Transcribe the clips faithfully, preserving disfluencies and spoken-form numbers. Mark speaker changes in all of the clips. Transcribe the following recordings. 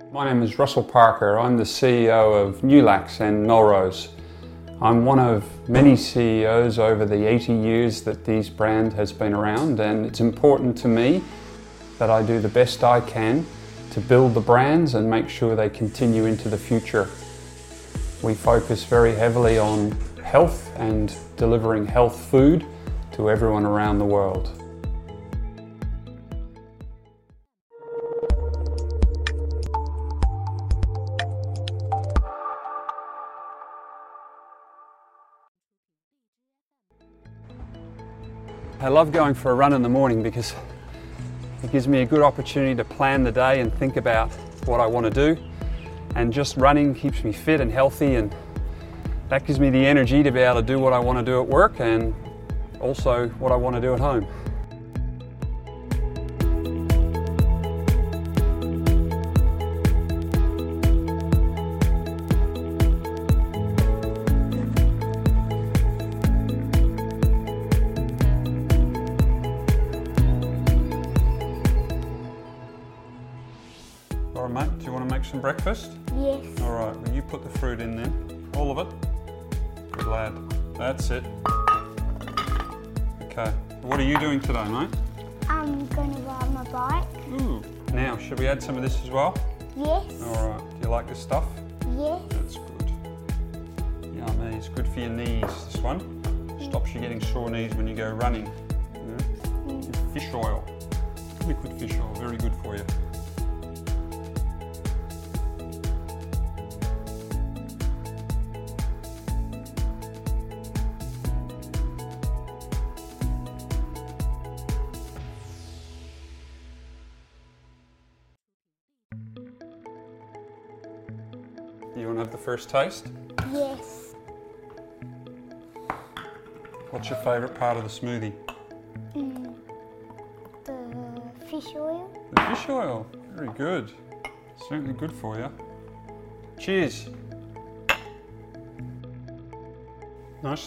Speaker 1: My name is Russell Parker. I'm the C E O of Nulax and Melrose. I'm one of many C E Os over the eighty years that these brand has been around, and it's important to me that I do the best I can to build the brands and make sure they continue into the future. We focus very heavily on health and delivering health food to everyone around the world. I love going for a run in the morning because it gives me a good opportunity to plan the day and think about what I want to do. And just running keeps me fit and healthy, and that gives me the energy to be able to do what I want to do at work and also what I want to do at home. All right, mate, do you want to make some breakfast?
Speaker 2: Yes.
Speaker 1: All right, well, you put the fruit in then. All of it? Good lad. That's it. Okay, what are you doing today, mate?
Speaker 2: I'm going to ride my bike.
Speaker 1: Ooh. Now, should we add some of this as well?
Speaker 2: Yes.
Speaker 1: All right, do you like this stuff?
Speaker 2: Yes.
Speaker 1: That's good. Yummy, it's good for your knees, this one. Stops you getting sore knees when you go running. Yeah.
Speaker 2: Mm.
Speaker 1: Fish oil, liquid fish oil, very good for you. You want to have the first taste?
Speaker 2: Yes.
Speaker 1: What's your favourite part of the smoothie?
Speaker 2: Mm. The fish oil.
Speaker 1: The fish oil. Very good. Certainly good for you. Cheers. Nice.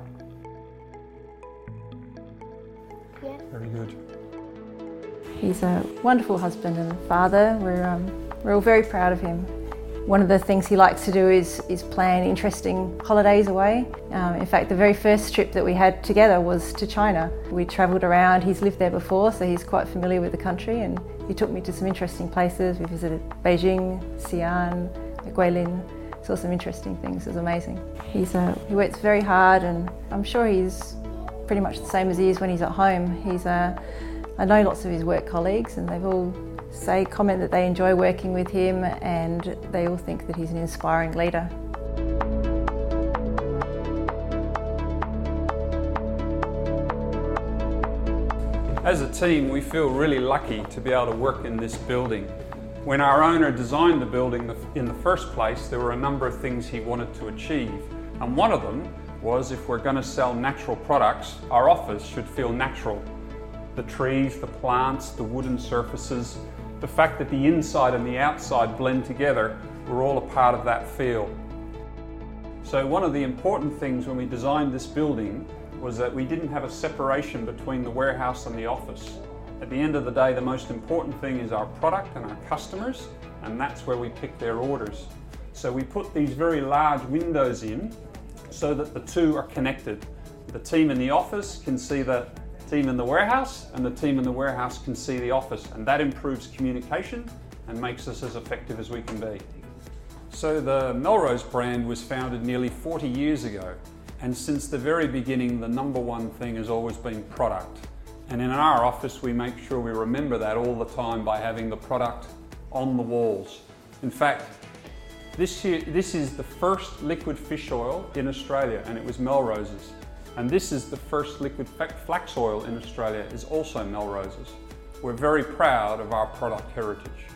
Speaker 2: Yeah.
Speaker 1: Very good.
Speaker 3: He's a wonderful husband and father. We're, um, we're all very proud of him. One of the things he likes to do is, is plan interesting holidays away. Um, in fact, the very first trip that we had together was to China. We travelled around, he's lived there before, so he's quite familiar with the country, and he took me to some interesting places. We visited Beijing, Xi'an, Guilin, saw some interesting things. It was amazing. He's uh, he works very hard, and I'm sure he's pretty much the same as he is when he's at home. He's, uh, I know lots of his work colleagues, and they've all say, comment that they enjoy working with him, and they all think that he's an inspiring leader.
Speaker 1: As a team, we feel really lucky to be able to work in this building. When our owner designed the building in the first place, there were a number of things he wanted to achieve. And one of them was, if we're going to sell natural products, our office should feel natural. The trees, the plants, the wooden surfaces, the fact that the inside and the outside blend together, we're all a part of that feel. So one of the important things when we designed this building was that we didn't have a separation between the warehouse and the office. At the end of the day, the most important thing is our product and our customers, and that's where we pick their orders. So we put these very large windows in so that the two are connected. The team in the office can see the team in the warehouse, and the team in the warehouse can see the office, and that improves communication and makes us as effective as we can be. So the Melrose brand was founded nearly forty years ago, and since the very beginning the number one thing has always been product. And in our office we make sure we remember that all the time by having the product on the walls. In fact, this, year, this is the first liquid fish oil in Australia, and it was Melrose's. And this is the first liquid flax oil in Australia, is also Melrose's. We're very proud of our product heritage.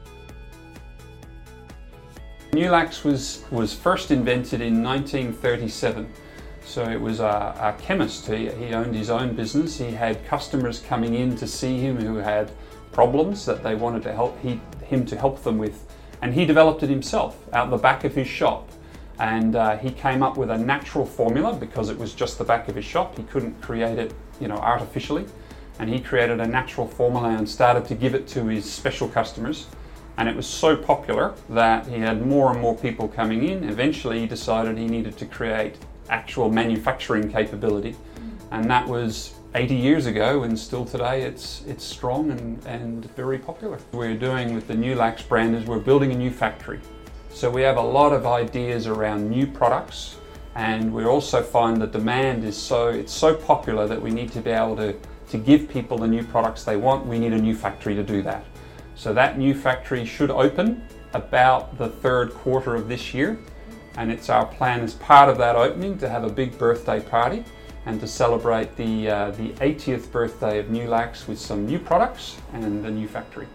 Speaker 1: Nulax was, was first invented in nineteen thirty-seven. So it was a, a chemist. He, he owned his own business. He had customers coming in to see him who had problems that they wanted to help he, him to help them with. And he developed it himself out the back of his shop. And uh, he came up with a natural formula because it was just the back of his shop. He couldn't create it, you know, artificially. And he created a natural formula and started to give it to his special customers. And it was so popular that he had more and more people coming in. Eventually he decided he needed to create actual manufacturing capability. And that was eighty years ago, and still today it's it's strong and, and very popular. What we're doing with the Nulax brand is we're building a new factory. So we have a lot of ideas around new products, and we also find the demand is so, it's so popular that we need to be able to, to give people the new products they want. We need a new factory to do that. So that new factory should open about the third quarter of this year, and it's our plan as part of that opening to have a big birthday party and to celebrate the, uh, the eightieth birthday of Nulax with some new products and a new factory.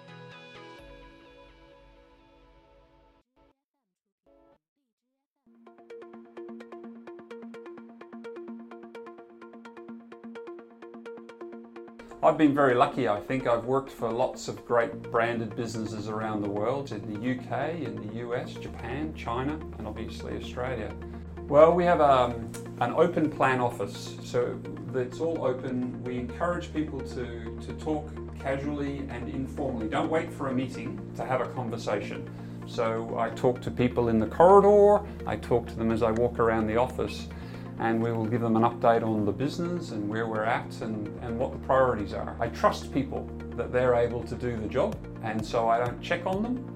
Speaker 1: I've been very lucky, I think. I've worked for lots of great branded businesses around the world, in the U K, in the U S, Japan, China, and obviously Australia. Well, we have um, an open plan office, so it's all open. We encourage people to, to talk casually and informally. Don't wait for a meeting to have a conversation. So I talk to people in the corridor, I talk to them as I walk around the office, and we will give them an update on the business and where we're at and, and what the priorities are. I trust people that they're able to do the job, and so I don't check on them.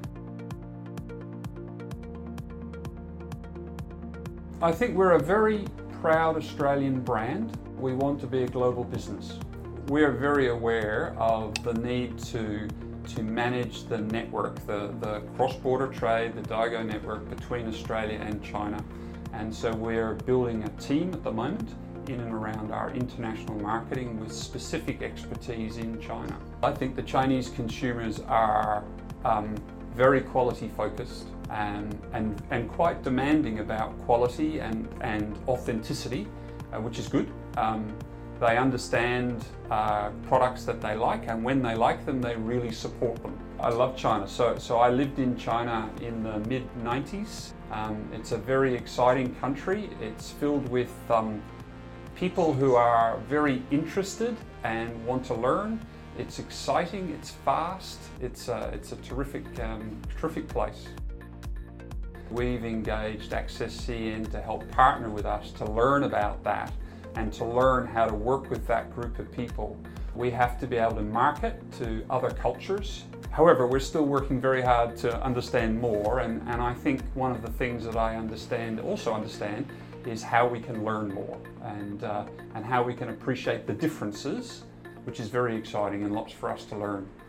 Speaker 1: I think we're a very proud Australian brand. We want to be a global business. We're very aware of the need to, to manage the network, the, the cross-border trade, the Daigou network between Australia and China. And so we're building a team at the moment in and around our international marketing with specific expertise in China. I think the Chinese consumers are um, very quality focused and, and, and quite demanding about quality and, and authenticity, uh, which is good. Um, they understand uh, products that they like, and when they like them, they really support them. I love China. So, so I lived in China in the mid nineties. Um, it's a very exciting country. It's filled with um, people who are very interested and want to learn. It's exciting, it's fast, it's a, it's a terrific, um, terrific place. We've engaged Access C N to help partner with us to learn about that and to learn how to work with that group of people. We have to be able to market to other cultures. However, we're still working very hard to understand more, and, and I think one of the things that I understand, also understand, is how we can learn more and, uh, and how we can appreciate the differences, which is very exciting and lots for us to learn.